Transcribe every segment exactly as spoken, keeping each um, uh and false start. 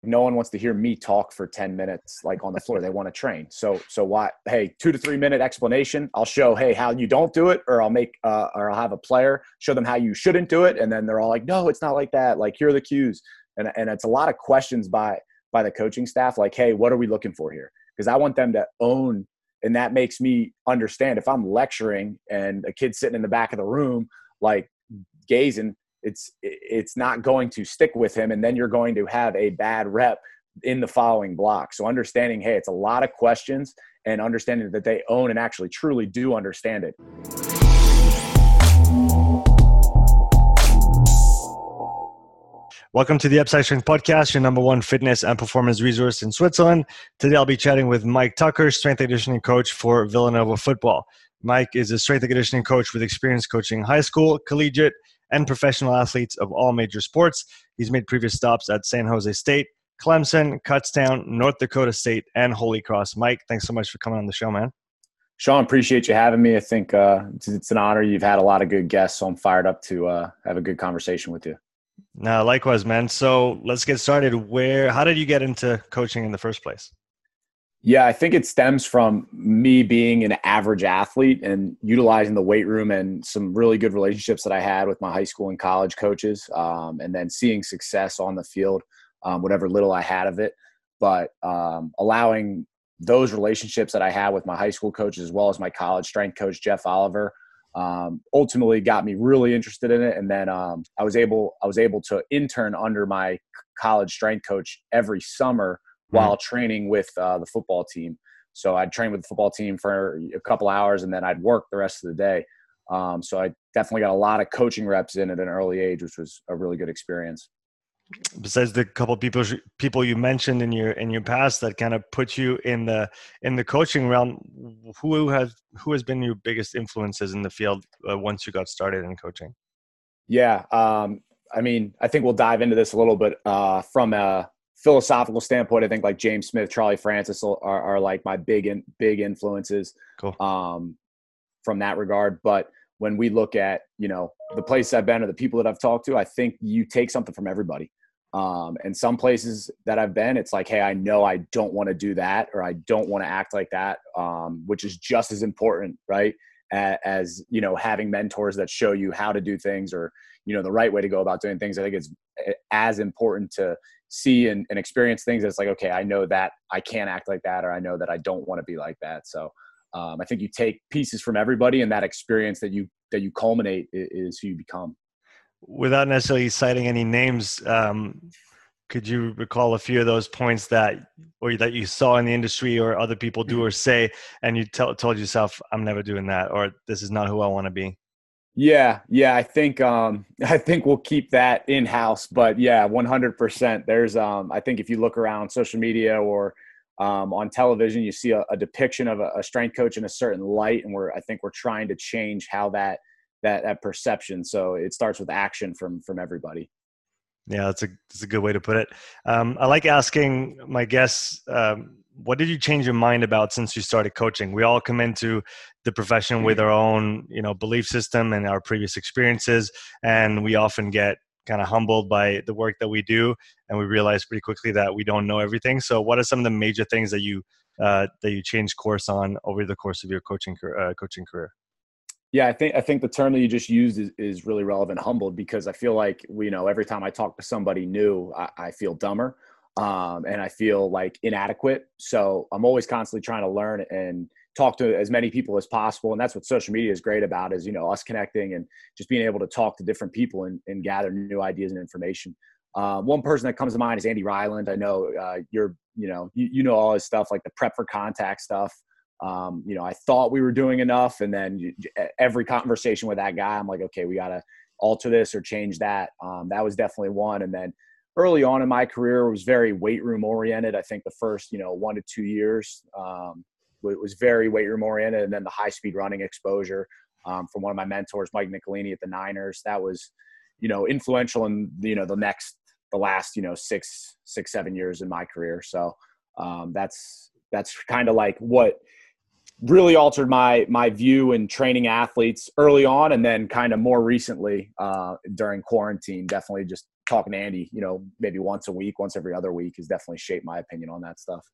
no one wants to hear me talk for ten minutes, like on the floor. They want to train. So, so why, hey, two to three minute explanation. I'll show, hey, how you don't do it, or I'll make, uh, or I'll have a player show them how you shouldn't do it. And then they're all like, no, it's not like that. Like, here are the cues. And, and it's a lot of questions by, by the coaching staff. Like, hey, what are we looking for here? Because I want them to own. And that makes me understand if I'm lecturing and a kid's sitting in the back of the room, like gazing, it's it's not going to stick with him, and then you're going to have a bad rep in the following block. So understanding, hey, it's a lot of questions, and understanding that they own and actually truly do understand it. Welcome to the Upside Strength Podcast, your number one fitness and performance resource in Switzerland. Today I'll be chatting with Mike Tucker, strength and conditioning coach for Villanova football. Mike is a strength and conditioning coach with experience coaching high school, collegiate, and professional athletes of all major sports. He's made previous stops at San Jose State, Clemson, Kutztown, North Dakota State, and Holy Cross. Mike, thanks so much for coming on the show, man. Sean, appreciate you having me. I think uh, it's, it's an honor. You've had a lot of good guests, so I'm fired up to uh, have a good conversation with you. No, likewise, man. So let's get started. Where, how did you get into coaching in the first place? Yeah, I think it stems from me being an average athlete and utilizing the weight room and some really good relationships that I had with my high school and college coaches, um, and then seeing success on the field, um, whatever little I had of it. But um, allowing those relationships that I had with my high school coaches as well as my college strength coach, Jeff Oliver, um, ultimately got me really interested in it. And then um, I was able I was able to intern under my college strength coach every summer while training with uh, the football team. So I'd train with the football team for a couple hours and then I'd work the rest of the day. Um, so I definitely got a lot of coaching reps in at an early age, which was a really good experience. Besides the couple people people you mentioned in your in your past that kind of put you in the in the coaching realm, who has who has been your biggest influences in the field uh, once you got started in coaching? Yeah, um, I mean, I think we'll dive into this a little bit uh, from a philosophical standpoint. I think like James Smith, Charlie Francis are, are like my big in, big influences. Cool. um, from that regard. But when we look at, you know, the places I've been or the people that I've talked to, I think you take something from everybody. Um, and some places that I've been, it's like, hey, I know I don't want to do that, or I don't want to act like that, um, which is just as important, right? As, as, you know, having mentors that show you how to do things, or, you know, the right way to go about doing things. I think it's as important to see and, and experience things. It's like, okay, I know that I can't act like that, or I know that I don't want to be like that. So um, I think you take pieces from everybody, and that experience that you, that you culminate is, is who you become. Without necessarily citing any names, um, could you recall a few of those points that, or that you saw in the industry or other people do or say, and you tell, told yourself, I'm never doing that, or this is not who I want to be? Yeah. Yeah. I think, um, I think we'll keep that in house, but yeah, one hundred percent. There's, um, I think if you look around social media or, um, on television, you see a, a depiction of a, a strength coach in a certain light. And we're, I think we're trying to change how that, that, that perception. So it starts with action from, from everybody. Yeah, that's a, that's a good way to put it. Um, I like asking my guests, um, what did you change your mind about since you started coaching? We all come into the profession with our own, you know, belief system and our previous experiences, and we often get kind of humbled by the work that we do, and we realize pretty quickly that we don't know everything. So, what are some of the major things that you uh, that you changed course on over the course of your coaching uh, coaching career? Yeah, I think I think the term that you just used is, is really relevant, humbled, because I feel like, you know, every time I talk to somebody new, I, I feel dumber. Um, and I feel like inadequate. So I'm always constantly trying to learn and talk to as many people as possible. And that's what social media is great about, is, you know, us connecting and just being able to talk to different people and, and gather new ideas and information. Uh, one person that comes to mind is Andy Ryland. I know uh, you're, you know, you, you know, all his stuff, like the prep for contact stuff. Um, you know, I thought we were doing enough. And then you, every conversation with that guy, I'm like, okay, we got to alter this or change that. Um, that was definitely one. And then early on in my career, it was very weight room oriented. I think the first, you know, one to two years um, it was very weight room oriented. And then the high speed running exposure um, from one of my mentors, Mike Nicolini at the Niners, that was, you know, influential in, you know, the next, the last, you know, six, six, seven years in my career. So um, that's, that's kind of like what really altered my, my view in training athletes early on. And then kind of more recently uh, during quarantine, definitely just talking to Andy, you know, maybe once a week, once every other week has definitely shaped my opinion on that stuff.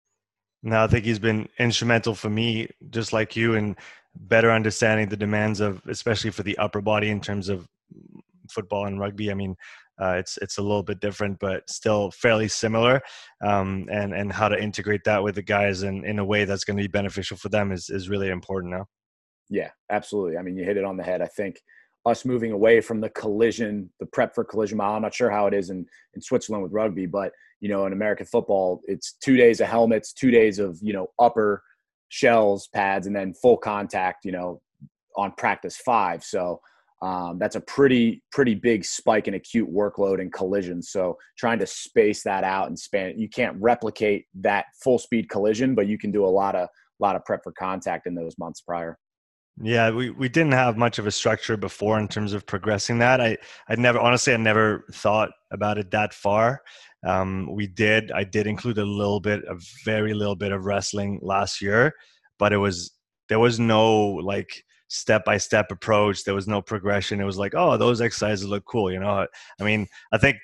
No, I think he's been instrumental for me, just like you, in better understanding the demands of, especially for the upper body in terms of football and rugby. I mean, uh, it's it's a little bit different, but still fairly similar. Um, and and how to integrate that with the guys in, in a way that's going to be beneficial for them is is really important now. Yeah, absolutely. I mean, you hit it on the head. I think us moving away from the collision, the prep for collision mile. I'm not sure how it is in, in Switzerland with rugby, but, you know, in American football, it's two days of helmets, two days of, you know, upper shells, pads, and then full contact, you know, on practice five. So um, that's a pretty, pretty big spike in acute workload and collision. So trying to space that out and span, you can't replicate that full speed collision, but you can do a lot of, lot of prep for contact in those months prior. Yeah, we, we didn't have much of a structure before in terms of progressing that. I I never honestly I never thought about it that far. Um, we did I did include a little bit, a very little bit of wrestling last year, but it was there was no like step by step approach. There was no progression. It was like, oh, those exercises look cool, you know. I mean, I think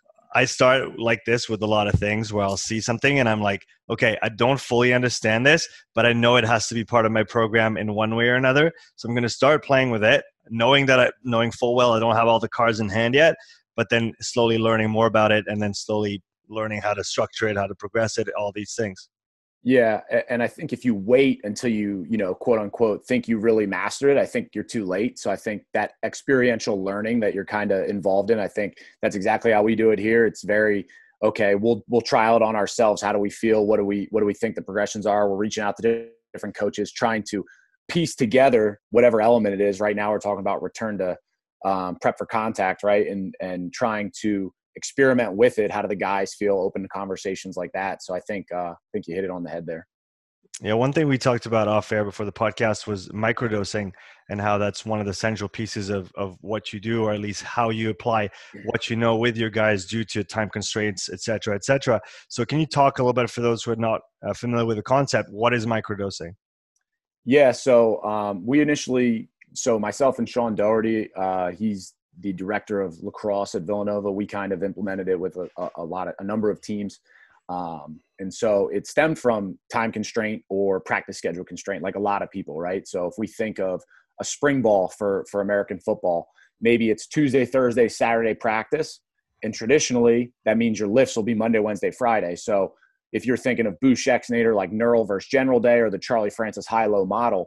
I start like this with a lot of things where I'll see something and I'm like, okay, I don't fully understand this, but I know it has to be part of my program in one way or another. So I'm going to start playing with it, knowing that I, knowing full well I don't have all the cards in hand yet, but then slowly learning more about it and then slowly learning how to structure it, how to progress it, all these things. Yeah, and I think if you wait until you, you know, quote unquote, think you really mastered it, I think you're too late. So I think that experiential learning that you're kind of involved in, I think that's exactly how we do it here. It's very, okay, we'll we'll trial it on ourselves. How do we feel? What do we what do we think the progressions are? We're reaching out to different coaches, trying to piece together whatever element it is. Right now, we're talking about return to um, prep for contact, right? And and trying to experiment with it. How do the guys feel? Open to conversations like that. So I think uh, I think you hit it on the head there. Yeah, one thing we talked about off air before the podcast was microdosing and how that's one of the central pieces of, of what you do, or at least how you apply what you know with your guys due to time constraints, et cetera, et cetera. So can you talk a little bit for those who are not uh, familiar with the concept? What is microdosing? Yeah, so um, we initially, so myself and Sean Doherty, uh, he's the director of lacrosse at Villanova. We kind of implemented it with a, a, a lot of, a number of teams. Um, and so it stemmed from time constraint or practice schedule constraint, like a lot of people, right? So if we think of a spring ball for, for American football, maybe it's Tuesday, Thursday, Saturday practice. And traditionally that means your lifts will be Monday, Wednesday, Friday. So if you're thinking of Boosh Exnator, like neural versus general day, or the Charlie Francis high-low model,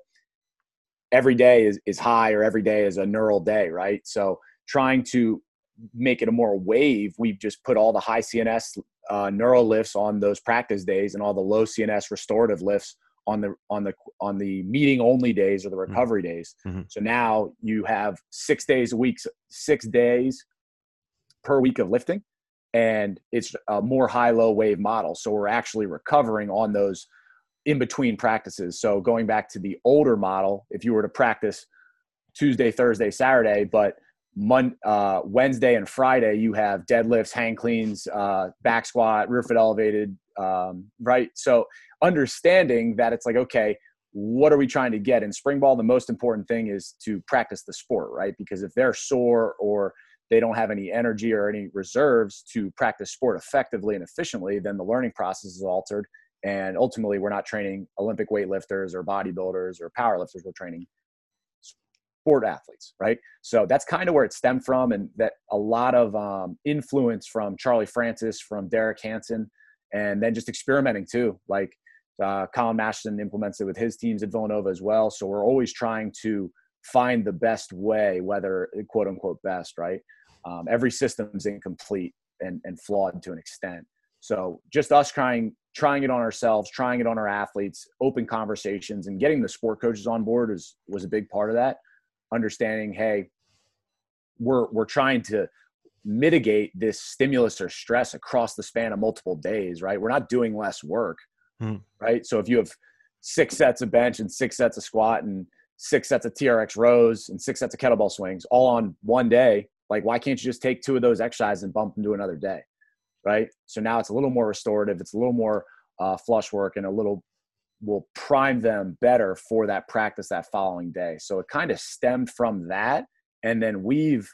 every day is, is high, or every day is a neural day, right? So trying to make it a more wave, we've just put all the high C N S uh, neural lifts on those practice days and all the low C N S restorative lifts on the on the on the meeting only days or the recovery mm-hmm. days. Mm-hmm. So now you have six days a week, six days per week of lifting, and it's a more high-low wave model. So we're actually recovering on those in between practices. So going back to the older model, if you were to practice Tuesday, Thursday, Saturday, but Mon- uh, Wednesday and Friday, you have deadlifts, hang cleans, uh, back squat, rear foot elevated, um, right? So understanding that it's like, okay, what are we trying to get? In spring ball, the most important thing is to practice the sport, right? Because if they're sore or they don't have any energy or any reserves to practice sport effectively and efficiently, then the learning process is altered. And ultimately, we're not training Olympic weightlifters or bodybuilders or powerlifters. We're training sport athletes, right? So that's kind of where it stemmed from, and that a lot of um, influence from Charlie Francis, from Derek Hansen, and then just experimenting too. Like uh, Colin Masterson implements it with his teams at Villanova as well. So we're always trying to find the best way, whether quote unquote best, right? Um, every system is incomplete and, and flawed to an extent. So just us trying trying it on ourselves, trying it on our athletes, open conversations, and getting the sport coaches on board is was a big part of that. Understanding, hey, we're we're trying to mitigate this stimulus or stress across the span of multiple days, right? We're not doing less work, hmm. right? So if you have six sets of bench and six sets of squat and six sets of T R X rows and six sets of kettlebell swings all on one day, like why can't you just take two of those exercises and bump them to another day, right? So now it's a little more restorative, it's a little more uh, flush work, and a little will prime them better for that practice that following day. So it kind of stemmed from that. And then we've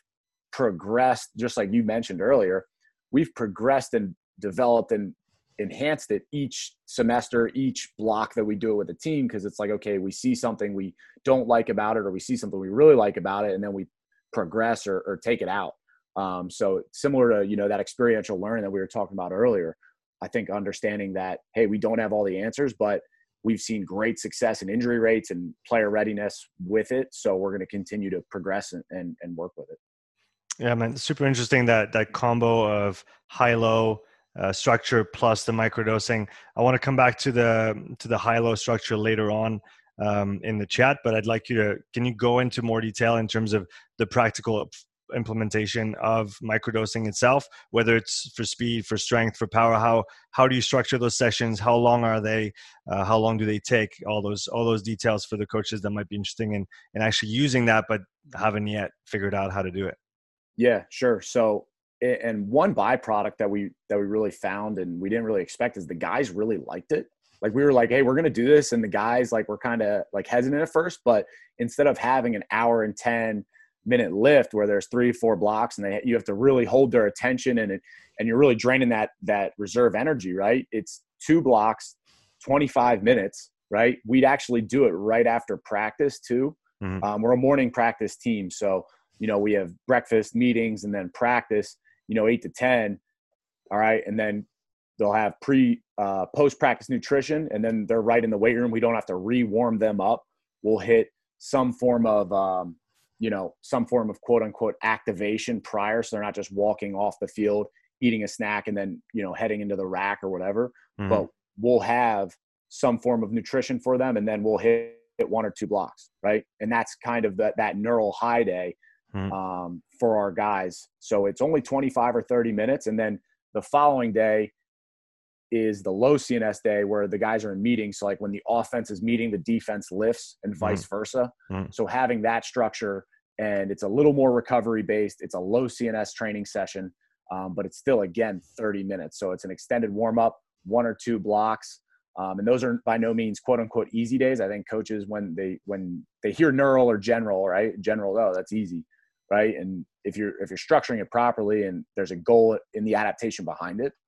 progressed, just like you mentioned earlier, we've progressed and developed and enhanced it each semester, each block that we do it with a team. Cause it's like, okay, we see something we don't like about it, or we see something we really like about it, and then we progress or, or take it out. Um, so similar to, you know, that experiential learning that we were talking about earlier, I think understanding that, hey, we don't have all the answers, but we've seen great success in injury rates and player readiness with it. So we're going to continue to progress and, and, and work with it. Yeah, man, super interesting that that combo of high-low uh, structure plus the microdosing. I want to come back to the to the high-low structure later on um, in the chat, but I'd like you to, can you go into more detail in terms of the practical implementation of microdosing itself, whether it's for speed, for strength, for power? How how do you structure those sessions? How long are they? Uh, how long do they take? All those all those details for the coaches that might be interesting in in actually using that, but haven't yet figured out how to do it. Yeah, sure. So, and one byproduct that we that we really found and we didn't really expect is the guys really liked it. Like we were like, hey, we're gonna do this, and the guys like were kind of like hesitant at first, but instead of having an hour and ten minute lift where there's three, four blocks, and they you have to really hold their attention, and it, and you're really draining that that reserve energy, right? It's two blocks, twenty-five minutes, right? We'd actually do it right after practice too. Mm-hmm. Um, we're a morning practice team, so you know, we have breakfast, meetings, and then practice, you know, eight to ten. All right. And then they'll have pre, uh, post-practice nutrition, and then they're right in the weight room. We don't have to re-warm them up. We'll hit some form of, um, you know, some form of quote unquote activation prior. So they're not just walking off the field, eating a snack, and then, you know, heading into the rack or whatever. Mm-hmm. But we'll have some form of nutrition for them, and then we'll hit, hit one or two blocks. Right. And that's kind of that, that neural high day. Hmm. Um, for our guys. So it's only twenty-five or thirty minutes. And then the following day is the low C N S day, where the guys are in meetings. So like when the offense is meeting, the defense lifts, and vice hmm. versa. Hmm. So having that structure, and it's a little more recovery based. It's a low C N S training session, um, but it's still, again, thirty minutes. So it's an extended warm up, one or two blocks. Um, and those are by no means quote unquote easy days. I think coaches, when they, when they hear neural or general, right? General, oh, that's easy. Right. And if you're, if you're structuring it properly and there's a goal in the adaptation behind it,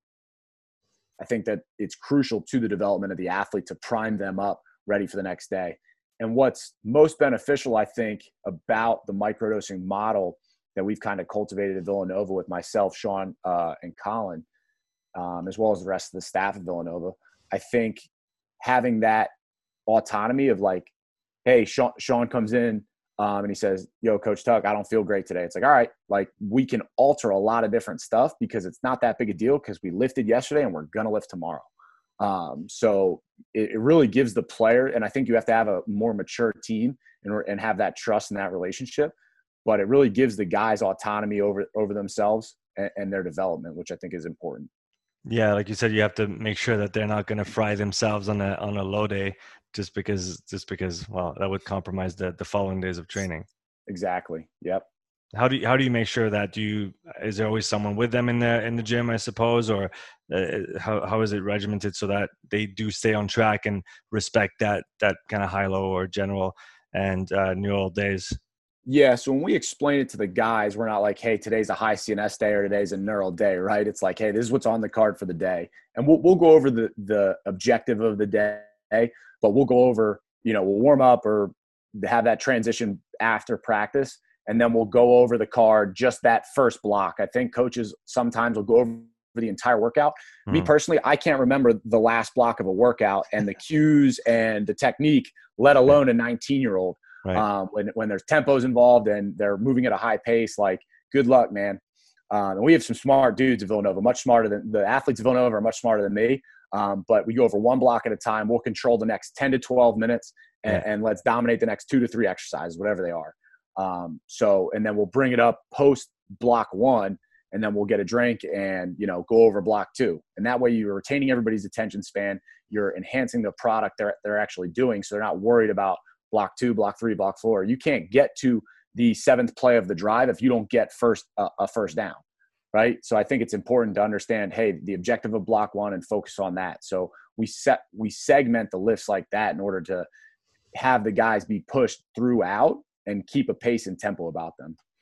I think that it's crucial to the development of the athlete to prime them up ready for the next day. And what's most beneficial, I think, about the microdosing model that we've kind of cultivated at Villanova with myself, Sean, uh, and Colin, um, as well as the rest of the staff at Villanova, I think having that autonomy of like, hey, Sean, Sean comes in, Um, and he says, yo, Coach Tuck, I don't feel great today. It's like, all right, like we can alter a lot of different stuff because it's not that big a deal because we lifted yesterday and we're going to lift tomorrow. Um, so it, it really gives the player, and I think you have to have a more mature team and, and have that trust in that relationship, but it really gives the guys autonomy over, over themselves and, and their development, which I think is important. Yeah, like you said, you have to make sure that they're not going to fry themselves on a on a low day just because just because well, that would compromise the the following days of training. Exactly. Yep. How do you, how do you make sure that? Do you, is there always someone with them in the in the gym, I suppose, or uh, how how is it regimented so that they do stay on track and respect that that kind of high low or general and uh, neural days? Yeah, so when we explain it to the guys, we're not like, hey, today's a high C N S day or today's a neural day, right? It's like, hey, this is what's on the card for the day. And we'll we'll go over the the objective of the day, but we'll go over, you know, we'll warm up or have that transition after practice, and then we'll go over the card, just that first block. I think coaches sometimes will go over the entire workout. Mm-hmm. Me personally, I can't remember the last block of a workout and the cues and the technique, let alone a nineteen-year-old. Right. Um, when, when there's tempos involved and they're moving at a high pace, like good luck, man. Um, and we have some smart dudes at Villanova, much smarter than the athletes at Villanova are much smarter than me. Um, but we go over one block at a time. We'll control the next ten to twelve minutes and, yeah. and let's dominate the next two to three exercises, whatever they are. Um, so, and then we'll bring it up post block one, and then we'll get a drink and, you know, go over block two. And that way you're retaining everybody's attention span. You're enhancing the product they're, they're actually doing. So they're not worried about block two, block three, block four. You can't get to the seventh play of the drive if you don't get first uh, a first down, right? So I think it's important to understand, hey, the objective of block one and focus on that. So we set we segment the lifts like that in order to have the guys be pushed throughout and keep a pace and tempo about them.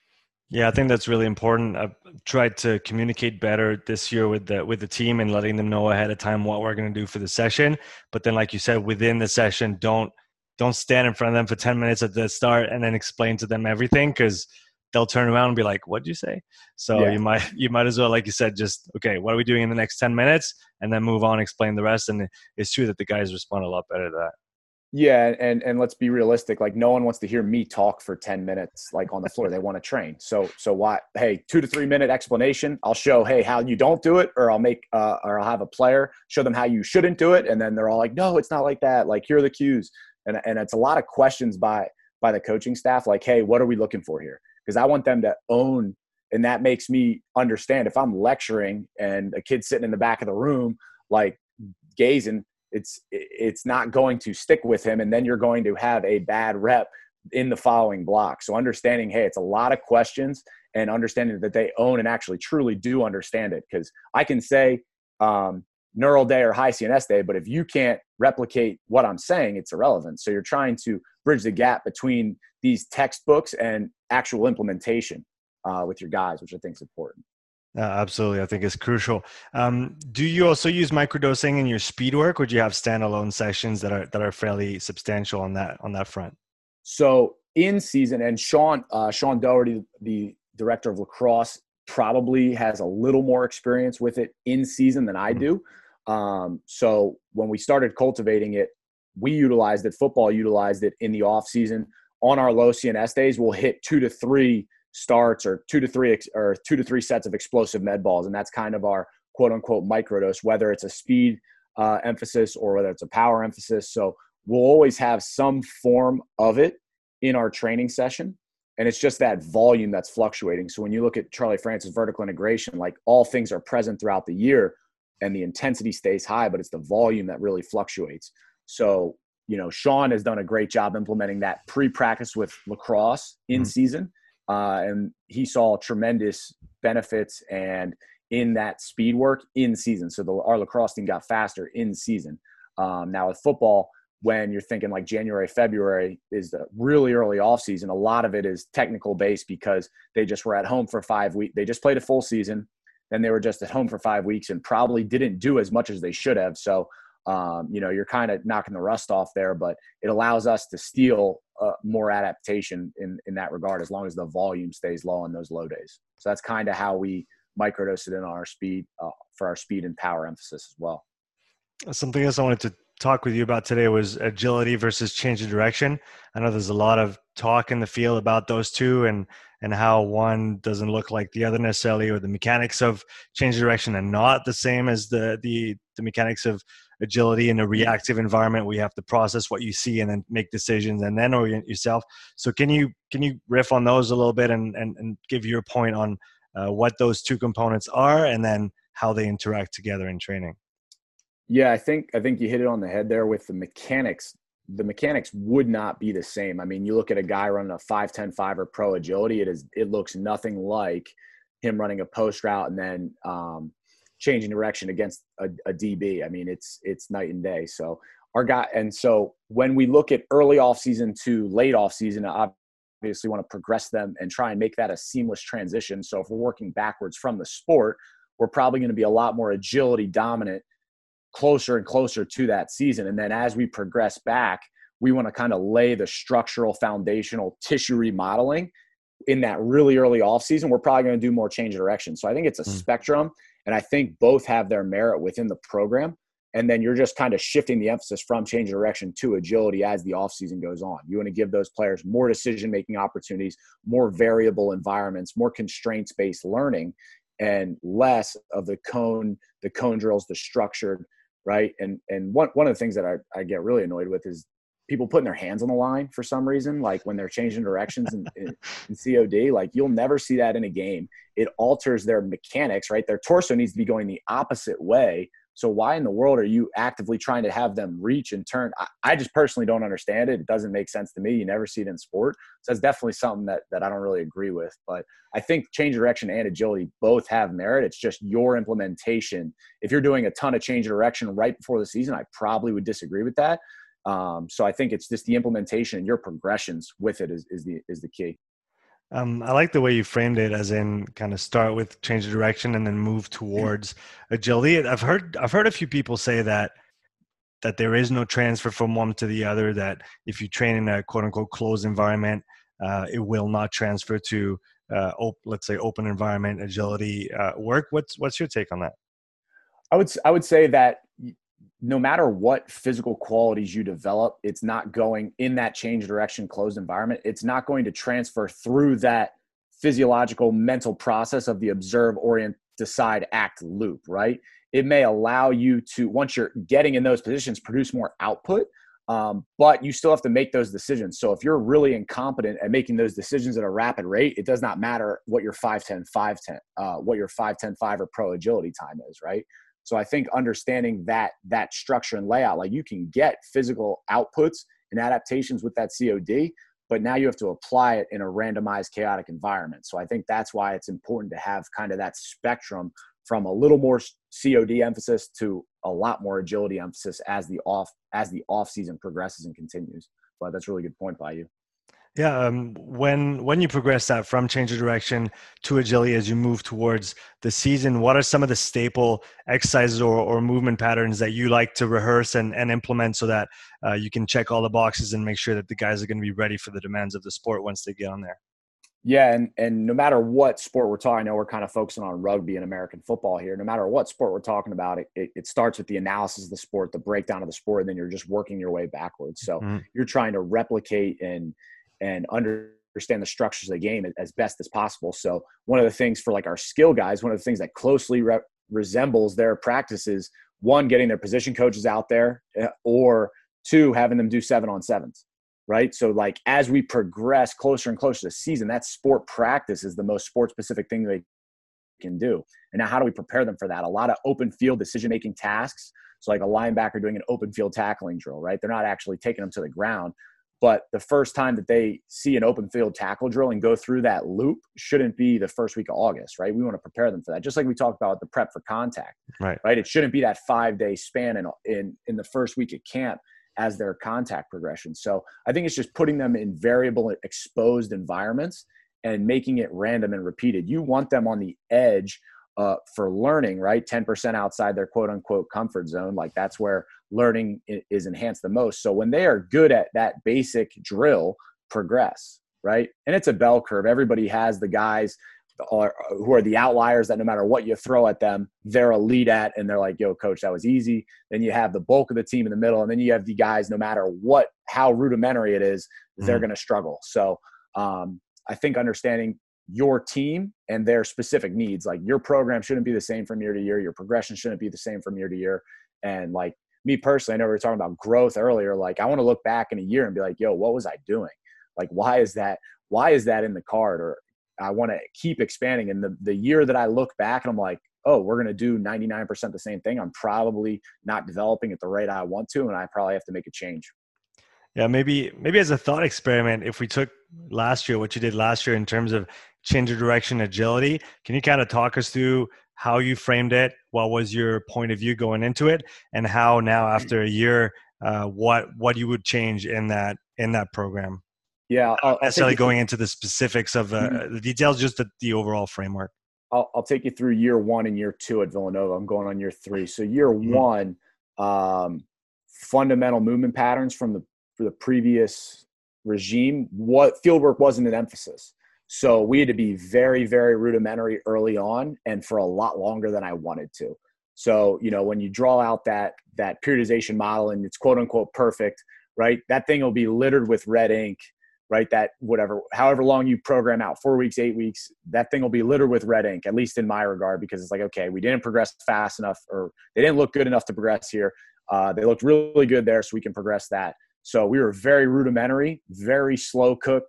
Yeah, I think that's really important. I've tried to communicate better this year with the with the team and letting them know ahead of time what we're going to do for the session. But then, like you said, within the session, don't don't stand in front of them for ten minutes at the start and then explain to them everything, because they'll turn around and be like, "What'd you say?" So Yeah. you might you might as well, like you said, just okay, what are we doing in the next ten minutes, and then move on, explain the rest. And it's true that the guys respond a lot better to that. Yeah, and and let's be realistic. Like, no one wants to hear me talk for ten minutes, like on the floor. They want to train. So so why? Hey, two to three minute explanation. I'll show hey how you don't do it, or I'll make uh, or I'll have a player show them how you shouldn't do it, and then they're all like, no, it's not like that. Like, here are the cues, and and it's a lot of questions by by the coaching staff. Like, hey, what are we looking for here? Because I want them to own, and that makes me understand if I'm lecturing and a kid's sitting in the back of the room, like gazing. It's it's not going to stick with him, and then you're going to have a bad rep in the following block. So understanding, hey, it's a lot of questions, and understanding that they own and actually truly do understand it. Because I can say um, neural day or high C N S day, but if you can't replicate what I'm saying, it's irrelevant. So you're trying to bridge the gap between these textbooks and actual implementation uh, with your guys, which I think is important. Uh, absolutely. I think it's crucial. Um, do you also use microdosing in your speed work, or do you have standalone sessions that are that are fairly substantial on that on that front? So in season, and Sean uh, Sean Doherty, the director of lacrosse, probably has a little more experience with it in season than I do. Um, so when we started cultivating it, we utilized it. Football utilized it in the off season. On our low C N S days, we'll hit two to three starts or two to three ex- or two to three sets of explosive med balls, and that's kind of our quote unquote microdose, whether it's a speed uh, emphasis or whether it's a power emphasis. So we'll always have some form of it in our training session, and it's just that volume that's fluctuating. So when you look at Charlie Francis vertical integration, like all things are present throughout the year, and the intensity stays high, but it's the volume that really fluctuates. So you know, Sean has done a great job implementing that pre-practice with lacrosse in Mm-hmm. season. Uh, and he saw tremendous benefits and in that speed work in season. So the, our lacrosse team got faster in season. Um, now with football, when you're thinking like January, February is the really early off season, a lot of it is technical based because they just were at home for five weeks. They just played a full season. Then they were just at home for five weeks and probably didn't do as much as they should have. So, um, you know, you're kind of knocking the rust off there, but it allows us to steal uh, more adaptation in, in that regard, as long as the volume stays low on those low days. So that's kind of how we microdose it in our speed uh, for our speed and power emphasis as well. Something else I wanted to talk with you about today was agility versus change of direction. I know there's a lot of talk in the field about those two, and and how one doesn't look like the other necessarily, or the mechanics of change of direction are not the same as the the the mechanics of agility. In a reactive environment, we have to process what you see and then make decisions and then orient yourself. So can you can you riff on those a little bit and and, and give your point on uh, what those two components are and then how they interact together in training? Yeah, I think I think you hit it on the head there with the mechanics. The mechanics would not be the same. I mean, you look at a guy running a five ten five or pro agility, it is it looks nothing like him running a post route and then um, changing direction against a, a D B. I mean, it's it's night and day. So our guy, and so when we look at early off season to late off season, obviously want to progress them and try and make that a seamless transition. So if we're working backwards from the sport, we're probably going to be a lot more agility dominant closer and closer to that season. And then as we progress back, we want to kind of lay the structural foundational tissue remodeling in that really early off season. We're probably going to do more change of direction. So I think it's a mm. spectrum, and I think both have their merit within the program. And then you're just kind of shifting the emphasis from change of direction to agility as the off season goes on. You want to give those players more decision-making opportunities, more variable environments, more constraints-based learning, and less of the cone, the cone drills, the structured, right? And and one one of the things that I, I get really annoyed with is people putting their hands on the line for some reason, like when they're changing directions in, in, in C O D. Like, you'll never see that in a game. It alters their mechanics, right? Their torso needs to be going the opposite way. So why in the world are you actively trying to have them reach and turn? I, I just personally don't understand it. It doesn't make sense to me. You never see it in sport. So that's definitely something that, that I don't really agree with. But I think change of direction and agility both have merit. It's just your implementation. If you're doing a ton of change of direction right before the season, I probably would disagree with that. Um, so I think it's just the implementation and your progressions with it is, is the is the key. Um, I like the way you framed it, as in kind of start with change of direction and then move towards agility. I've heard I've heard a few people say that that there is no transfer from one to the other. That if you train in a quote unquote closed environment, uh, it will not transfer to uh, op- let's say open environment agility uh, work. What's what's your take on that? I would I would say that no matter what physical qualities you develop, it's not going in that change direction closed environment. It's not going to transfer through that physiological mental process of the observe, orient, decide, act loop, right? It may allow you to, once you're getting in those positions, produce more output, um, but you still have to make those decisions. So if you're really incompetent at making those decisions at a rapid rate, it does not matter what your five ten, five ten, uh, what your five ten, five or pro agility time is, right? So I think understanding that that structure and layout, like you can get physical outputs and adaptations with that C O D, but now you have to apply it in a randomized, chaotic environment. So I think that's why it's important to have kind of that spectrum from a little more C O D emphasis to a lot more agility emphasis as the off as the off season progresses and continues. But that's a really good point by you. Yeah, um, when when you progress that from change of direction to agility as you move towards the season, what are some of the staple exercises or, or movement patterns that you like to rehearse and, and implement so that uh, you can check all the boxes and make sure that the guys are going to be ready for the demands of the sport once they get on there? Yeah, and and no matter what sport we're talking, I know we're kind of focusing on rugby and American football here. No matter what sport we're talking about, it, it, it starts with the analysis of the sport, the breakdown of the sport, and then you're just working your way backwards. So Mhm. you're trying to replicate and and understand the structures of the game as best as possible. So one of the things for like our skill guys, one of the things that closely re- resembles their practices, one, getting their position coaches out there, uh, or two, having them do seven on sevens. Right. So like as we progress closer and closer to the season, that sport practice is the most sport specific thing they can do. And now how do we prepare them for that? A lot of open field decision-making tasks. So like a linebacker doing an open field tackling drill, right? They're not actually taking them to the ground. But the first time that they see an open field tackle drill and go through that loop shouldn't be the first week of August, right? We want to prepare them for that. Just like we talked about the prep for contact, Right. right? It shouldn't be that five-day span in, in, in the first week of camp as their contact progression. So I think it's just putting them in variable exposed environments and making it random and repeated. You want them on the edge uh, for learning, right? ten percent outside their quote unquote comfort zone. Like that's where learning is enhanced the most. So when they are good at that basic drill, progress, right? And it's a bell curve. Everybody has the guys are, who are the outliers that no matter what you throw at them, they're elite at, and they're like, yo, coach, that was easy. Then you have the bulk of the team in the middle, and then you have the guys, no matter what, how rudimentary it is, they're mm-hmm. going to struggle. So um, I think understanding your team and their specific needs, like your program shouldn't be the same from year to year. Your progression shouldn't be the same from year to year. And like me personally, I know we were talking about growth earlier. Like I want to look back in a year and be like, yo, what was I doing? Like, why is that? Why is that in the card? Or I want to keep expanding. And the, the year that I look back and I'm like, oh, we're going to do ninety-nine percent the same thing, I'm probably not developing at the rate I want to, and I probably have to make a change. Yeah, maybe maybe as a thought experiment, if we took last year, what you did last year in terms of change of direction, agility, can you kind of talk us through how you framed it? What was your point of view going into it, and how now after a year, uh, what what you would change in that in that program? Yeah, I'll, not necessarily going through, into the specifics of uh, mm-hmm. the details, just the, the overall framework. I'll, I'll take you through year one and year two at Villanova. I'm going on year three. So year mm-hmm. one, um, fundamental movement patterns from the for the previous regime, what fieldwork wasn't an emphasis. So we had to be very, very rudimentary early on and for a lot longer than I wanted to. So, you know, when you draw out that that periodization model and it's quote unquote perfect, right? That thing will be littered with red ink, right? That whatever, however long you program out, four weeks, eight weeks, that thing will be littered with red ink, at least in my regard, because it's like, okay, we didn't progress fast enough, or they didn't look good enough to progress here. Uh, they looked really good there, so we can progress that. So we were very rudimentary, very slow cook,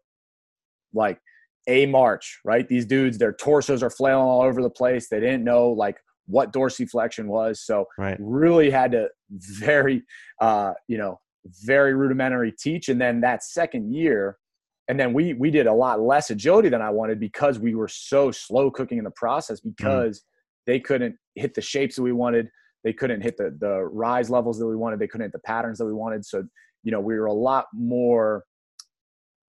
like a march, right? These dudes, their torsos are flailing all over the place. They didn't know like what dorsiflexion was. So right. really had to very, uh, you know, very rudimentary teach. And then that second year, and then we we did a lot less agility than I wanted because we were so slow cooking in the process, because mm. they couldn't hit the shapes that we wanted. They couldn't hit the the rise levels that we wanted. They couldn't hit the patterns that we wanted. So, you know, we were a lot more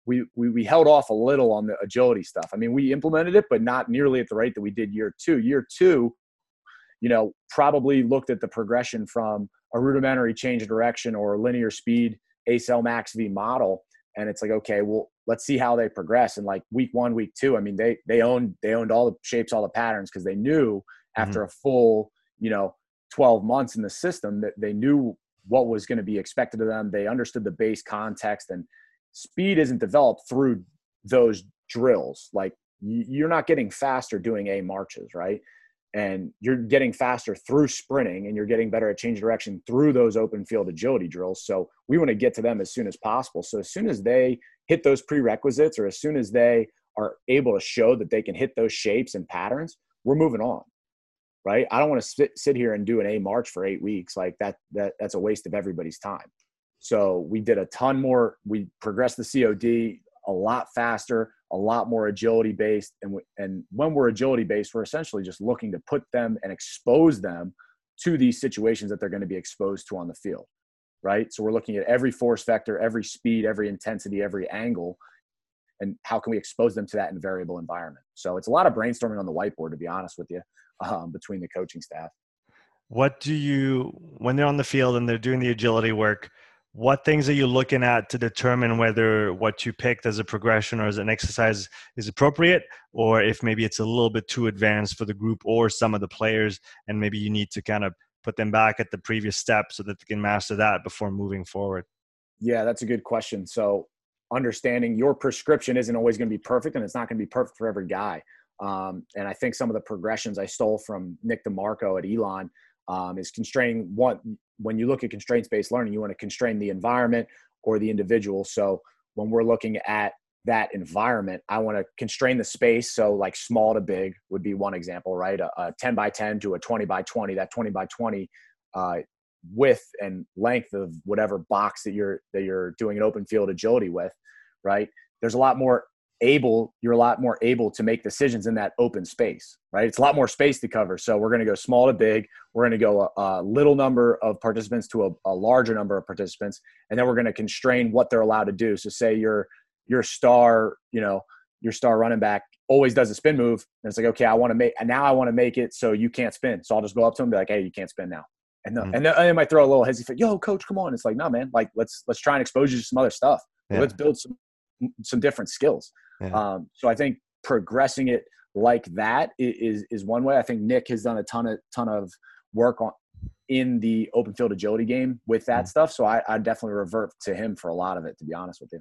we, we, we held off a little on the agility stuff. I mean, we implemented it, but not nearly at the rate that we did year two. Year two, you know, probably looked at the progression from a rudimentary change of direction or linear speed A C L max V model. And it's like, okay, well, let's see how they progress. And like week one, week two, I mean, they, they owned, they owned all the shapes, all the patterns, because they knew after mm-hmm. a full, you know, twelve months in the system that they knew what was going to be expected of them. They understood the base context, and speed isn't developed through those drills. Like you're not getting faster doing A marches, right? And you're getting faster through sprinting, and you're getting better at change direction through those open field agility drills. So we want to get to them as soon as possible. So as soon as they hit those prerequisites, or as soon as they are able to show that they can hit those shapes and patterns, we're moving on, right? I don't want to sit, sit here and do an A march for eight weeks. Like that, that that's a waste of everybody's time. So we did a ton more. We progressed the C O D a lot faster, a lot more agility based. And, w- and when we're agility based, we're essentially just looking to put them and expose them to these situations that they're going to be exposed to on the field, right? So we're looking at every force vector, every speed, every intensity, every angle, and how can we expose them to that in variable environment. So it's a lot of brainstorming on the whiteboard, to be honest with you, um, between the coaching staff. What do you, when they're on the field and they're doing the agility work, what things are you looking at to determine whether what you picked as a progression or as an exercise is appropriate, or if maybe it's a little bit too advanced for the group or some of the players, and maybe you need to kind of put them back at the previous step so that they can master that before moving forward? Yeah, that's a good question. So understanding your prescription isn't always going to be perfect, and it's not going to be perfect for every guy. Um, and I think some of the progressions I stole from Nick DeMarco at Elon um, is constraining one. When you look at constraints-based learning, you want to constrain the environment or the individual. So when we're looking at that environment, I want to constrain the space. So like small to big would be one example, right? A, a ten by ten to a twenty by twenty, that twenty by twenty uh, width and length of whatever box that you're, that you're doing an open field agility with, right? There's a lot more able, you're a lot more able to make decisions in that open space, right? It's a lot more space to cover. So we're going to go small to big. We're going to go a, a little number of participants to a, a larger number of participants. And then we're going to constrain what they're allowed to do. So say your, your star, you know, your star running back always does a spin move. And it's like, okay, I want to make, and now I want to make it so you can't spin. So I'll just go up to him and be like, hey, you can't spin now. And, the, mm-hmm. and, the, and they might throw a little hesitant, yo, coach, come on. It's like, no, man, like let's, let's try and expose you to some other stuff. Yeah. Let's build some, some different skills. Yeah. Um, so I think progressing it like that is, is one way. I think Nick has done a ton of, ton of work on in the open field agility game with that mm-hmm. stuff. So I, I definitely revert to him for a lot of it, to be honest with you.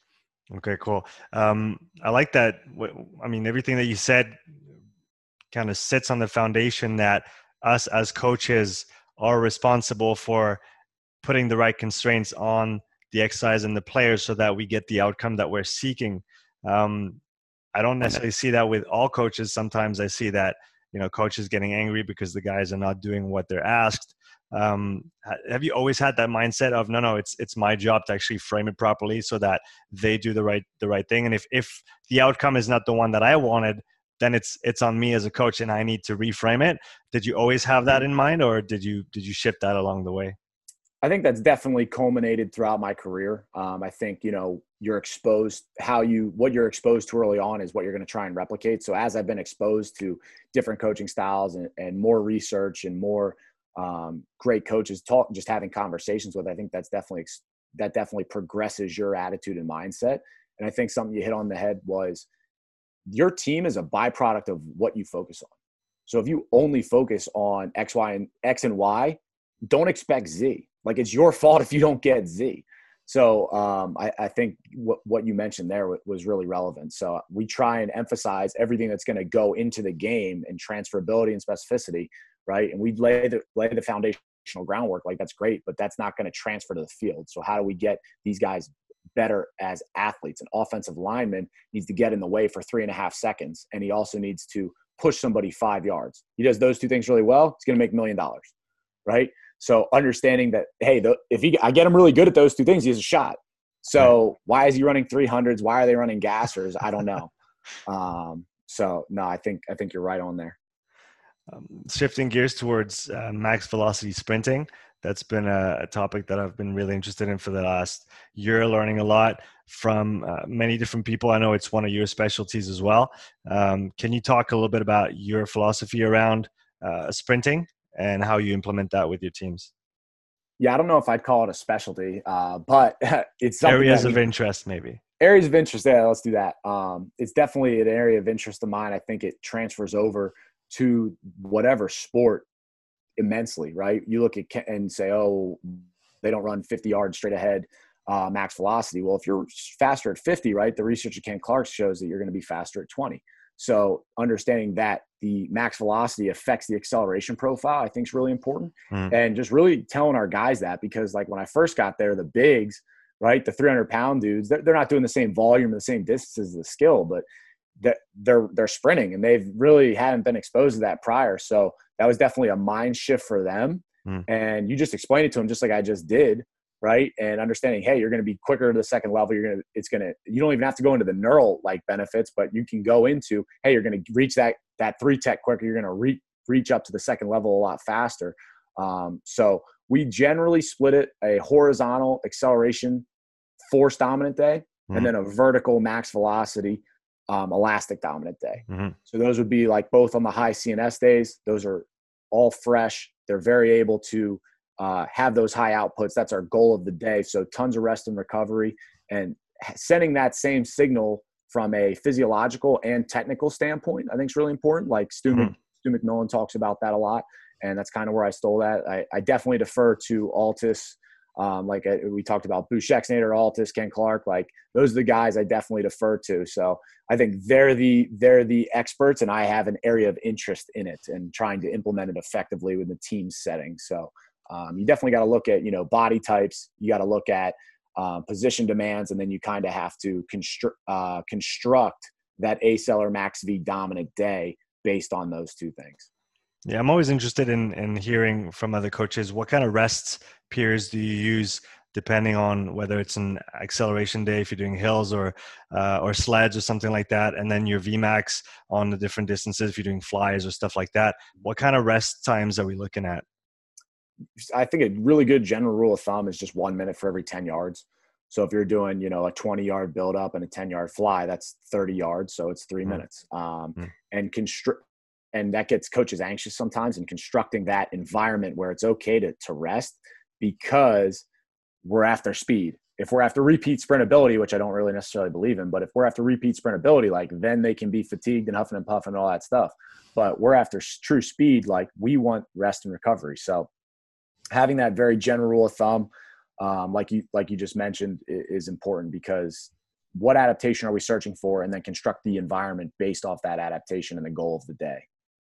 Okay, cool. Um, I like that. I mean, everything that you said kind of sits on the foundation that us as coaches are responsible for putting the right constraints on the exercise and the players so that we get the outcome that we're seeking. Um, I don't necessarily see that with all coaches. Sometimes I see that, you know, coaches getting angry because the guys are not doing what they're asked. Um, have you always had that mindset of, no, no, it's, it's my job to actually frame it properly so that they do the right, the right thing. And if, if the outcome is not the one that I wanted, then it's, it's on me as a coach and I need to reframe it. Did you always have that in mind, or did you, did you shift that along the way? I think that's definitely culminated throughout my career. Um, I think, you know, you're exposed, how you, what you're exposed to early on is what you're going to try and replicate. So as I've been exposed to different coaching styles and, and more research and more um, great coaches talk, just having conversations with, I think that's definitely, that definitely progresses your attitude and mindset. And I think something you hit on the head was your team is a byproduct of what you focus on. So if you only focus on X, Y, and X and Y, don't expect Z. Like it's your fault if you don't get Z. So um, I, I think what, what you mentioned there w- was really relevant. So we try and emphasize everything that's going to go into the game and transferability and specificity, right? And we lay the, lay the foundational groundwork. Like that's great, but that's not going to transfer to the field. So how do we get these guys better as athletes? An offensive lineman needs to get in the way for three and a half seconds. And he also needs to push somebody five yards. He does those two things really well. He's going to make a million dollars, right? So understanding that, hey, the, if he, I get him really good at those two things, he has a shot. So right. Why is he running three hundreds? Why are they running gassers? I don't know. um, so no, I think, I think you're right on there. Um, shifting gears towards uh, max velocity sprinting, that's been a, a topic that I've been really interested in for the last year, learning a lot from uh, many different people. I know it's one of your specialties as well. Um, can you talk a little bit about your philosophy around uh, sprinting and how you implement that with your teams? Yeah, I don't know if I'd call it a specialty, uh, but it's something Areas that of we, interest, maybe. areas of interest. Yeah, let's do that. Um, it's definitely an area of interest of mine. I think it transfers over to whatever sport immensely, right? You look at Ke- and say, oh, they don't run fifty yards straight ahead, uh, max velocity. Well, if you're faster at fifty, right, the research of Ken Clark shows that you're going to be faster at twenty. So understanding that the max velocity affects the acceleration profile, I think is really important. Mm. And just really telling our guys that, because like when I first got there, the bigs, right, the three hundred pound dudes, they're, they're not doing the same volume and the same distance as the skill, but that they're, they're sprinting, and they've really hadn't been exposed to that prior. So that was definitely a mind shift for them. Mm. And you just explain it to them just like I just did. Right. And understanding, hey, you're going to be quicker to the second level. You're going to, it's going to, you don't even have to go into the neural like benefits, but you can go into, hey, you're going to reach that, that three tech quicker. You're going to reach, reach up to the second level a lot faster. Um, so we generally split it a horizontal acceleration force dominant day, Mm. and then a vertical max velocity um, elastic dominant day. Mm-hmm. So those would be like both on the high C N S days. Those are all fresh. They're very able to uh, have those high outputs. That's our goal of the day. So tons of rest and recovery, and sending that same signal from a physiological and technical standpoint, I think is really important. Like Stu, Mm-hmm. Mc, Stu McMillan talks about that a lot. And that's kind of where I stole that. I, I definitely defer to Altus. Um, like I, we talked about Boosh Exnator, Altus, Ken Clark, like those are the guys I definitely defer to. So I think they're the, they're the experts, and I have an area of interest in it and trying to implement it effectively with the team setting. So um, you definitely got to look at, you know, body types. You got to look at um, position demands, and then you kind of have to construct, uh, construct that A-cell or max V dominant day based on those two things. Yeah, I'm always interested in in hearing from other coaches. What kind of rest periods do you use, depending on whether it's an acceleration day if you're doing hills or uh, or sleds or something like that, and then your V max on the different distances if you're doing flies or stuff like that. What kind of rest times are we looking at? I think a really good general rule of thumb is just one minute for every ten yards. So if you're doing, you know, a twenty yard build up and a ten yard fly, that's thirty yards. So it's three Mm. minutes. Um, Mm. and construct, and that gets coaches anxious sometimes in constructing that environment where it's okay to, to rest, because we're after speed. If we're after repeat sprintability, which I don't really necessarily believe in, but if we're after repeat sprintability, like then they can be fatigued and huffing and puffing and all that stuff. But we're after true speed, like we want rest and recovery. So having that very general rule of thumb, um, like you, like you just mentioned, is important, because what adaptation are we searching for, and then construct the environment based off that adaptation and the goal of the day.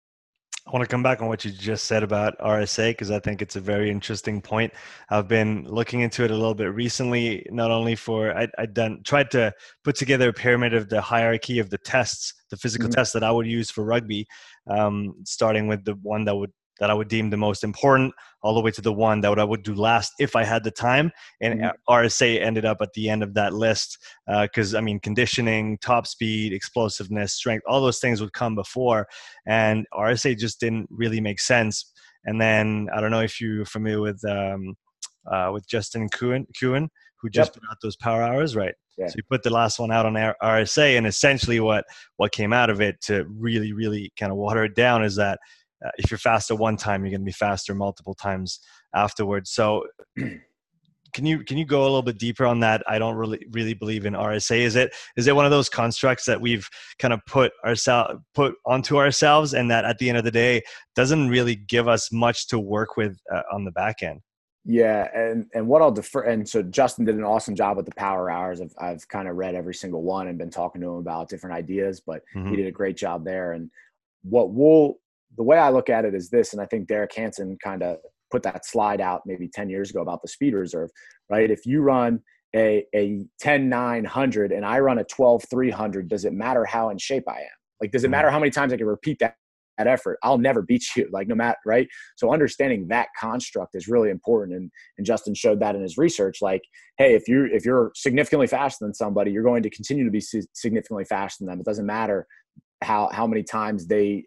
I want to come back on what you just said about R S A, because I think it's a very interesting point. I've been looking into it a little bit recently, not only for, I, I done tried to put together a pyramid of the hierarchy of the tests, the physical Mhm. tests that I would use for rugby, um, starting with the one that would that I would deem the most important, all the way to the one that would, I would do last if I had the time. And Mhm. R S A ended up at the end of that list because, uh, I mean, conditioning, top speed, explosiveness, strength, all those things would come before. And R S A just didn't really make sense. And then I don't know if you're familiar with um, uh, with Justin Kuhn, Kuhn, who just Yep. put out those power hours, right? Yeah. So he put the last one out on R S A, and essentially what what came out of it to really, really kind of water it down is that uh, if you're faster one time, you're going to be faster multiple times afterwards. So can you can you go a little bit deeper on that? I don't really really believe in R S A. Is it is it one of those constructs that we've kind of put ourselves put onto ourselves, and that at the end of the day doesn't really give us much to work with uh, on the back end? Yeah, and and what I'll defer, and so Justin did an awesome job with the power hours. I've I've kind of read every single one and been talking to him about different ideas, but Mm-hmm. he did a great job there. And what we'll, the way I look at it is this, and I think Derek Hansen kind of put that slide out maybe ten years ago about the speed reserve, right? If you run a a ten nine hundred and I run a twelve three hundred, does it matter how in shape I am? Like, does it Mm-hmm. matter how many times I can repeat that? That effort, I'll never beat you, like no matter, right? So understanding that construct is really important. And, and Justin showed that in his research, like, hey, if you're, if you're significantly faster than somebody, you're going to continue to be significantly faster than them. It doesn't matter how, how many times they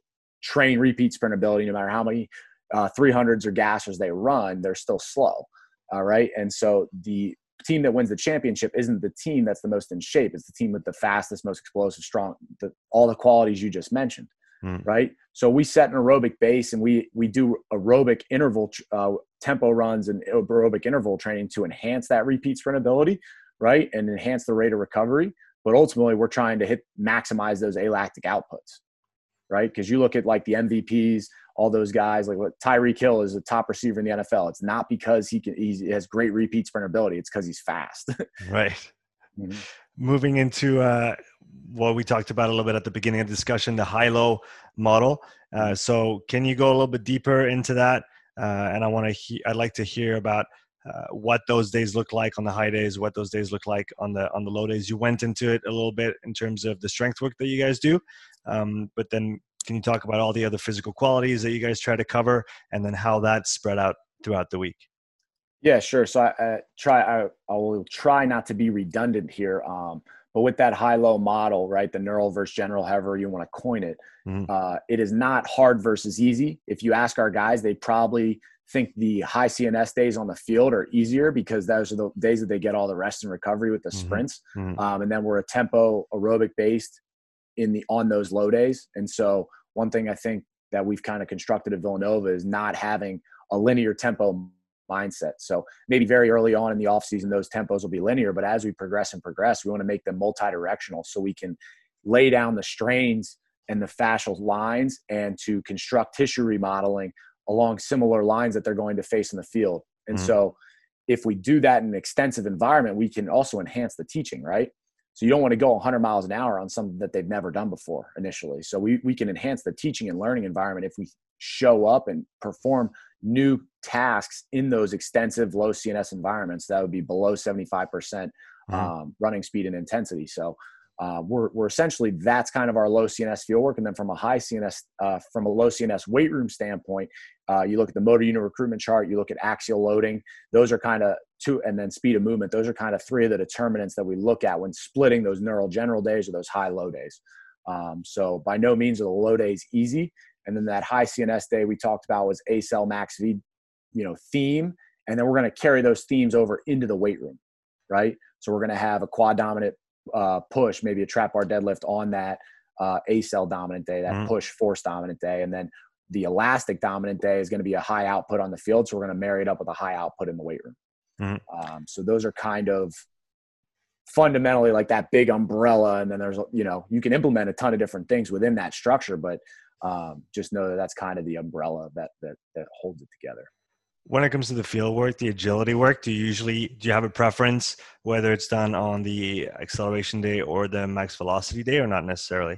train repeat sprint ability, no matter how many uh, three hundreds or gassers they run, they're still slow. All right. And so the team that wins the championship isn't the team that's the most in shape. It's the team with the fastest, most explosive, strong, the, all the qualities you just mentioned. Mm. Right. So we set an aerobic base, and we, we do aerobic interval uh, tempo runs and aerobic interval training to enhance that repeat sprint ability. Right. And enhance the rate of recovery. But ultimately we're trying to hit, maximize those alactic outputs. Right. Because you look at like the M V Ps, all those guys, like what Tyreek Hill is a top receiver in the N F L. It's not because he can, he has great repeat sprint ability. It's because he's fast. Right. Mm-hmm. Moving into uh, what we talked about a little bit at the beginning of the discussion, the high-low model. Uh, so can you go a little bit deeper into that? Uh, and I want to, he- I'd like to hear about uh, what those days look like on the high days, what those days look like on the on the low days. You went into it a little bit in terms of the strength work that you guys do, um, but then can you talk about all the other physical qualities that you guys try to cover, and then how that's spread out throughout the week? Yeah, sure. So I, I try, I, I will try not to be redundant here. Um, but with that high-low model, right, the neural versus general, however you want to coin it, mm-hmm. uh, it is not hard versus easy. If you ask our guys, they probably think the high C N S days on the field are easier because those are the days that they get all the rest and recovery with the mm-hmm. sprints. Mm-hmm. Um, and then we're a tempo aerobic based in the, on those low days. And so one thing I think that we've kind of constructed at Villanova is not having a linear tempo mindset. So maybe very early on in the off season, those tempos will be linear, but as we progress and progress, we want to make them multi-directional so we can lay down the strains and the fascial lines and to construct tissue remodeling along similar lines that they're going to face in the field. And mm-hmm. so if we do that in an extensive environment, we can also enhance the teaching, right? So you don't want to go one hundred miles an hour on something that they've never done before initially. So we, we can enhance the teaching and learning environment if we show up and perform new tasks in those extensive low C N S environments that would be below seventy-five percent um, mm-hmm. running speed and intensity. So uh, we're, we're essentially, that's kind of our low C N S field work. And then from a high C N S, uh, from a low C N S weight room standpoint, uh, you look at the motor unit recruitment chart, you look at axial loading, those are kind of two, and then speed of movement. Those are kind of three of the determinants that we look at when splitting those neural general days or those high low days. Um, so by no means are the low days easy. And then that high C N S day we talked about was A C E L Max V, you know, theme. And then we're going to carry those themes over into the weight room, right? So we're going to have a quad dominant uh, push, maybe a trap bar deadlift on that uh, A C E L dominant day, that mm-hmm. push force dominant day. And then the elastic dominant day is going to be a high output on the field. So we're going to marry it up with a high output in the weight room. Mm-hmm. Um, so those are kind of fundamentally like that big umbrella. And then there's, you know, you can implement a ton of different things within that structure, but Um, just know that that's kind of the umbrella that, that, that holds it together. When it comes to the field work, the agility work, do you usually, do you have a preference whether it's done on the acceleration day or the max velocity day, or not necessarily?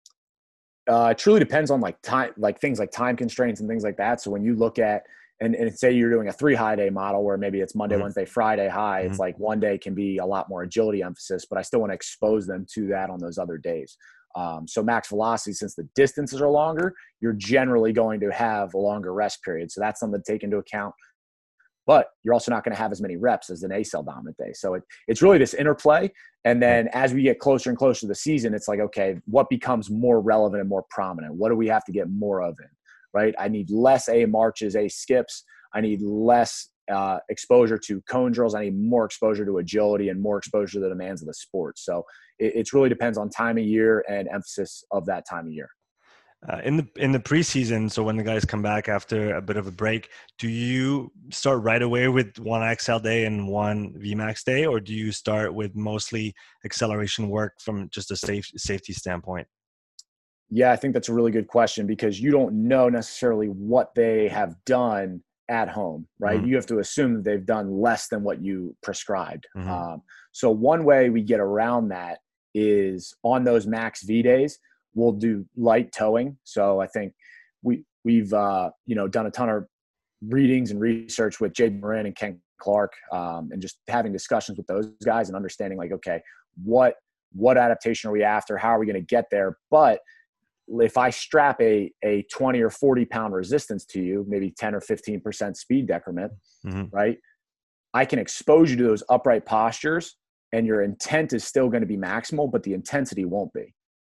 Uh, it truly depends on like time, like things like time constraints and things like that. So when you look at, and, and say you're doing a three high day model where maybe it's Monday, mm-hmm. Wednesday, Friday high, mm-hmm. it's like one day can be a lot more agility emphasis, but I still want to expose them to that on those other days. Um, so max velocity, since the distances are longer, you're generally going to have a longer rest period. So that's something to take into account. But you're also not going to have as many reps as an A C E L dominant day. So it, it's really this interplay. And then as we get closer and closer to the season, it's like, okay, what becomes more relevant and more prominent? What do we have to get more of in, right? I need less A marches, A skips. I need less uh, exposure to cone drills. I need more exposure to agility and more exposure to the demands of the sport. So it, it really depends on time of year and emphasis of that time of year. Uh, in the in the preseason, so when the guys come back after a bit of a break, do you start right away with one X L day and one V MAX day, or do you start with mostly acceleration work from just a safe, safety standpoint? Yeah, I think that's a really good question because you don't know necessarily what they have done at home, right? Mm-hmm. You have to assume that they've done less than what you prescribed. Mm-hmm. Um, so one way we get around that is on those max V days, we'll do light towing. So I think we, we've, uh, you know, done a ton of readings and research with Jay Morin and Ken Clark, um, and just having discussions with those guys and understanding like, okay, what, what adaptation are we after? How are we going to get there? But if I strap a, a twenty or forty pound resistance to you, maybe ten or fifteen percent speed decrement, mm-hmm. right? I can expose you to those upright postures and your intent is still going to be maximal, but the intensity won't be.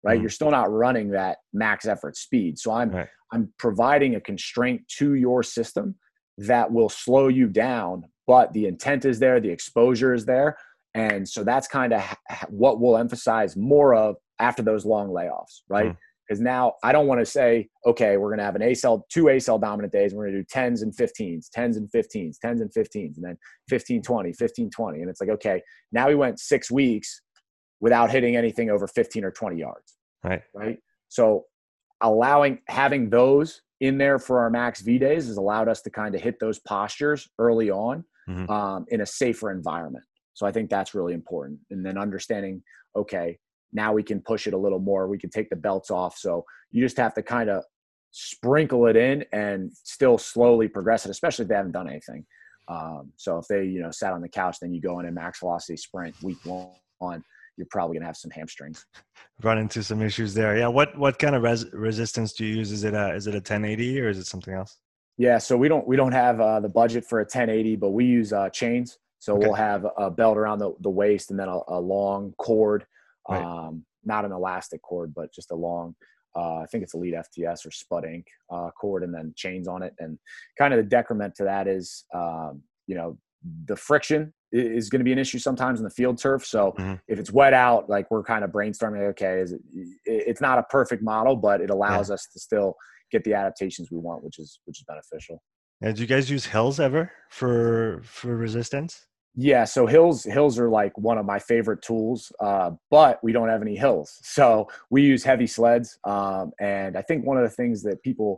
right? Mm-hmm. You're still not running that max effort speed. So I'm, Right. I'm providing a constraint to your system that will slow you down, but the intent is there, the exposure is there. And so that's kind of what we'll emphasize more of after those long layoffs, right? Because mm-hmm. now I don't want to say, okay, we're going to have an A cell, two A cell dominant days. And we're going to do tens and fifteens, tens and fifteens, tens and fifteens, and then fifteen, twenty, fifteen, twenty. And it's like, okay, now we went six weeks without hitting anything over fifteen or twenty yards. Right. Right. So allowing, having those in there for our max V days has allowed us to kind of hit those postures early on mm-hmm. um, in a safer environment. So I think that's really important. And then understanding, okay, now we can push it a little more. We can take the belts off. So you just have to kind of sprinkle it in and still slowly progress it, especially if they haven't done anything. Um, so if they, you know, sat on the couch, then you go in a max velocity sprint week one, you're probably gonna have some hamstrings. Run into some issues there. Yeah. What what kind of res- resistance do you use? Is it a is it a ten eighty or is it something else? Yeah. So we don't we don't have uh, the budget for a ten eighty, but we use uh, chains. So okay. we'll have a belt around the, the waist and then a, a long cord, right. um, not an elastic cord, but just a long, uh, I think it's Elite F T S or Spud Inc uh, cord, and then chains on it. And kind of the decrement to that is, um, you know, the friction is going to be an issue sometimes in the field turf. So mm-hmm. if it's wet out, like we're kind of brainstorming, okay, is it, it's not a perfect model, but it allows yeah. us to still get the adaptations we want, which is, which is beneficial. Yeah, do you guys use hills ever for, for resistance? Yeah. So hills, hills are like one of my favorite tools, uh, but we don't have any hills. So we use heavy sleds. Um, and I think one of the things that people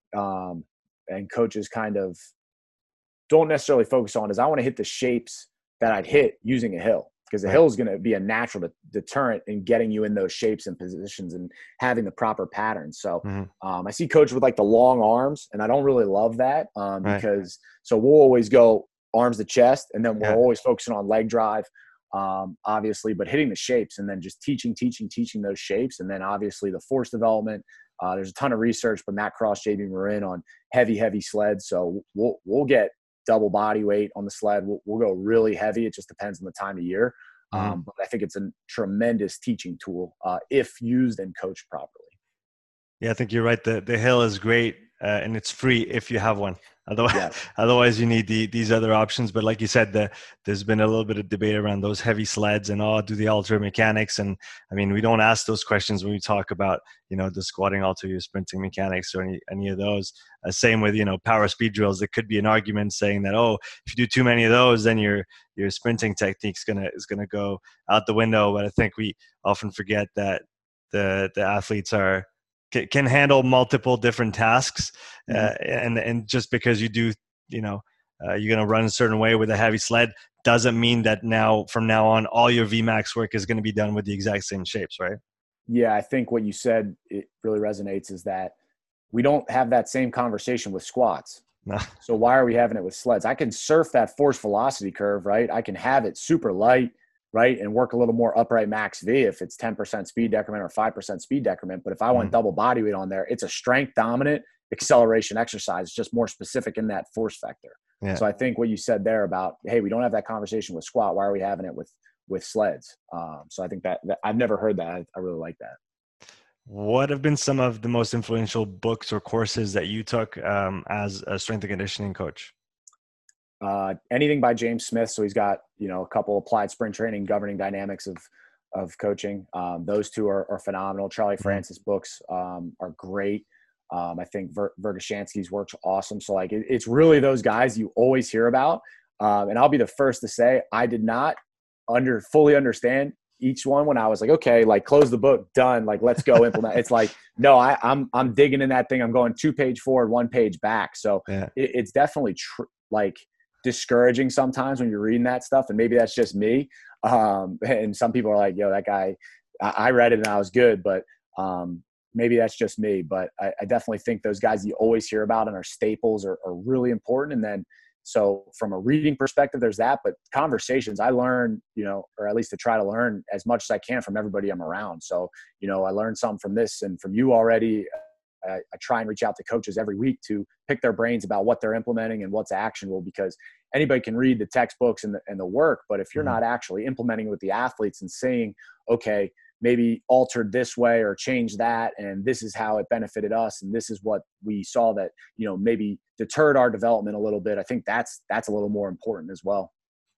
um, and coaches kind of don't necessarily focus on is I want to hit the shapes that I'd hit using a hill, because the right. hill is going to be a natural de- deterrent in getting you in those shapes and positions and having the proper patterns. So mm-hmm. um, I see coaches with like the long arms, and I don't really love that um, right. because so we'll always go arms to chest, and then we're yeah. always focusing on leg drive, um, obviously, but hitting the shapes and then just teaching, teaching, teaching those shapes. And then obviously the force development. Uh, there's a ton of research by Matt Cross, J B Marin on heavy, heavy sleds. So we'll, we'll get double body weight on the sled. We'll, we'll go really heavy. It just depends on the time of year. Mm-hmm. Um, but I think it's a tremendous teaching tool uh, if used and coached properly. Yeah, I think you're right. The the hill is great uh, and it's free if you have one. Otherwise, yeah. otherwise you need the, these other options. But like you said, the, there's been a little bit of debate around those heavy sleds and oh, do the alter mechanics. And I mean, we don't ask those questions when we talk about, you know, the squatting alter, your sprinting mechanics or any, any of those. Uh, same with, you know, power speed drills. There could be an argument saying that, oh, if you do too many of those, then your, your sprinting technique's gonna, is going to go out the window. But I think we often forget that the, the athletes are, can handle multiple different tasks. Uh, mm-hmm. and, and just because you do, you know, uh, you're going to run a certain way with a heavy sled doesn't mean that now from now on, all your V MAX work is going to be done with the exact same shapes, right? Yeah. I think what you said, it really resonates, is that we don't have that same conversation with squats. No. So why are we having it with sleds? I can surf that force velocity curve, right? I can have it super light, right, and work a little more upright max V if it's ten percent speed decrement or five percent speed decrement. But if I want mm-hmm. double body weight on there, it's a strength dominant acceleration exercise. It's just more specific in that force vector. Yeah. So I think what you said there about, hey, we don't have that conversation with squat. Why are we having it with, with sleds? Um, so I think that, that I've never heard that. I, I really like that. What have been some of the most influential books or courses that you took um, as a strength and conditioning coach? Uh, anything by James Smith. So he's got, you know, a couple applied sprint training, governing dynamics of, of coaching. Um, those two are, are phenomenal. Charlie mm-hmm. Francis books um, are great. Um, I think Ver- Vergashansky's work's awesome. So like, it, it's really those guys you always hear about. Um, and I'll be the first to say, I did not under fully understand each one when I was like, okay, like close the book, done. Like, let's go implement. It's like, no, I, I'm, I'm digging in that thing. I'm going two page forward, one page back. So yeah. it, it's definitely tr- like, discouraging sometimes when you're reading that stuff, and maybe that's just me. Um, and some people are like, yo, that guy, I, I read it and I was good, but um, maybe that's just me. But I, I definitely think those guys you always hear about and are staples are, are really important. And then, so from a reading perspective, there's that, but conversations, I learn, you know, or at least to try to learn as much as I can from everybody I'm around. So, you know, I learned some from this and from you already. I, I try and reach out to coaches every week to pick their brains about what they're implementing and what's actionable, because anybody can read the textbooks and the, and the work, but if you're mm-hmm. not actually implementing with the athletes and saying, okay, maybe altered this way or changed that, and this is how it benefited us, and this is what we saw that, you know, maybe deterred our development a little bit. I think that's that's a little more important as well.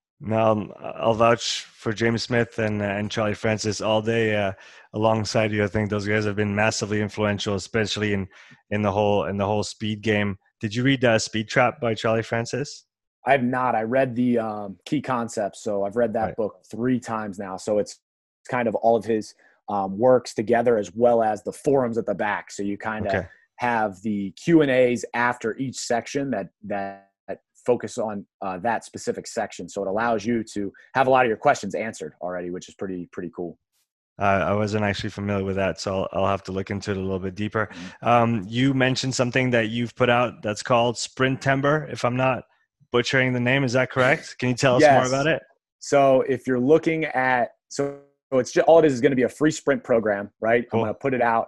Now, I'll vouch for James Smith and and Charlie Francis all day uh, alongside you. I think those guys have been massively influential, especially in in the whole in the whole speed game. Did you read uh, Speed Trap by Charlie Francis? I have not. I read the um, Key Concepts, so I've read that right. book three times now. So it's kind of all of his um, works together, as well as the forums at the back. So you kind of okay. have the Q and A's after each section that that. focus on uh, that specific section. So it allows you to have a lot of your questions answered already, which is pretty, pretty cool. Uh, I wasn't actually familiar with that, so I'll, I'll have to look into it a little bit deeper. Um, you mentioned something that you've put out that's called Sprintember, if I'm not butchering the name. Is that correct? Can you tell us yes. more about it? So if you're looking at, so it's just, all it is is going to be a free sprint program, right? Cool. I'm going to put it out.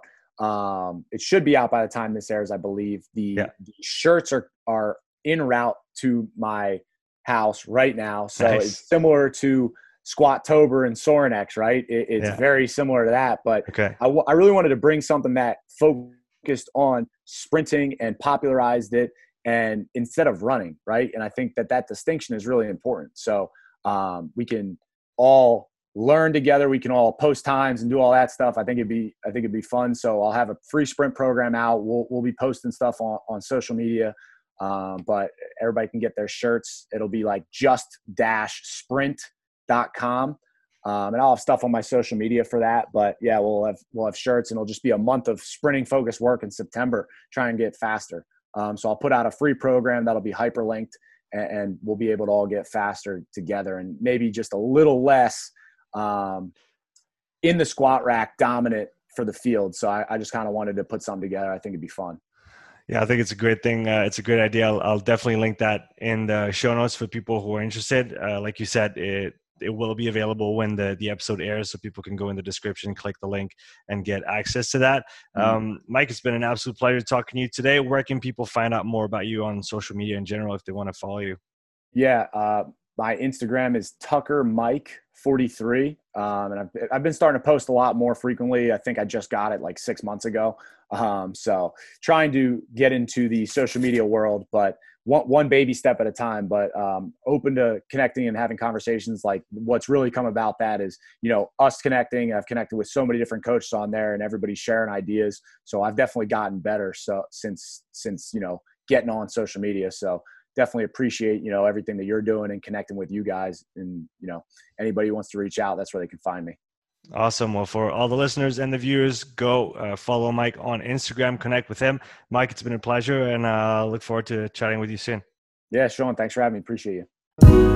Um, it should be out by the time this airs, I believe. The, yeah. the shirts are, are en route to my house right now. So nice. It's similar to Squattober and Sorinex, right? It, it's yeah. very similar to that, but okay. I, w- I really wanted to bring something that focused on sprinting and popularized it, and instead of running, right? And I think that that distinction is really important. So um, we can all learn together. We can all post times and do all that stuff. I think it'd be, I think it'd be fun. So I'll have a free sprint program out. We'll, we'll be posting stuff on, on social media. Um, but everybody can get their shirts. It'll be like just dash sprint dot com. Um, and I'll have stuff on my social media for that, but yeah, we'll have, we'll have shirts, and it'll just be a month of sprinting focused work in September, try and get faster. Um, so I'll put out a free program that'll be hyperlinked, and, and we'll be able to all get faster together, and maybe just a little less, um, in the squat rack dominant for the field. So I, I just kind of wanted to put something together. I think it'd be fun. Yeah, I think it's a great thing. Uh, it's a great idea. I'll, I'll definitely link that in the show notes for people who are interested. Uh, like you said, it it will be available when the, the episode airs, so people can go in the description, click the link, and get access to that. Mm-hmm. Um, Mike, it's been an absolute pleasure talking to you today. Where can people find out more about you on social media in general if they want to follow you? Yeah, uh, my Instagram is Tucker Mike forty-three. Um, and I've, I've been starting to post a lot more frequently. I think I just got it like six months ago. Um, so trying to get into the social media world, but one, one baby step at a time, but um, open to connecting and having conversations. Like what's really come about that is, you know, us connecting. I've connected with so many different coaches on there, and everybody's sharing ideas. So I've definitely gotten better. So since, since, you know, getting on social media. So definitely appreciate, you know, everything that you're doing and connecting with you guys, and, you know, anybody who wants to reach out, that's where they can find me. Awesome. Well, for all the listeners and the viewers, go uh, follow Mike on Instagram, connect with him. Mike, it's been a pleasure, and I uh, look forward to chatting with you soon. Yeah, Sean, thanks for having me. Appreciate you.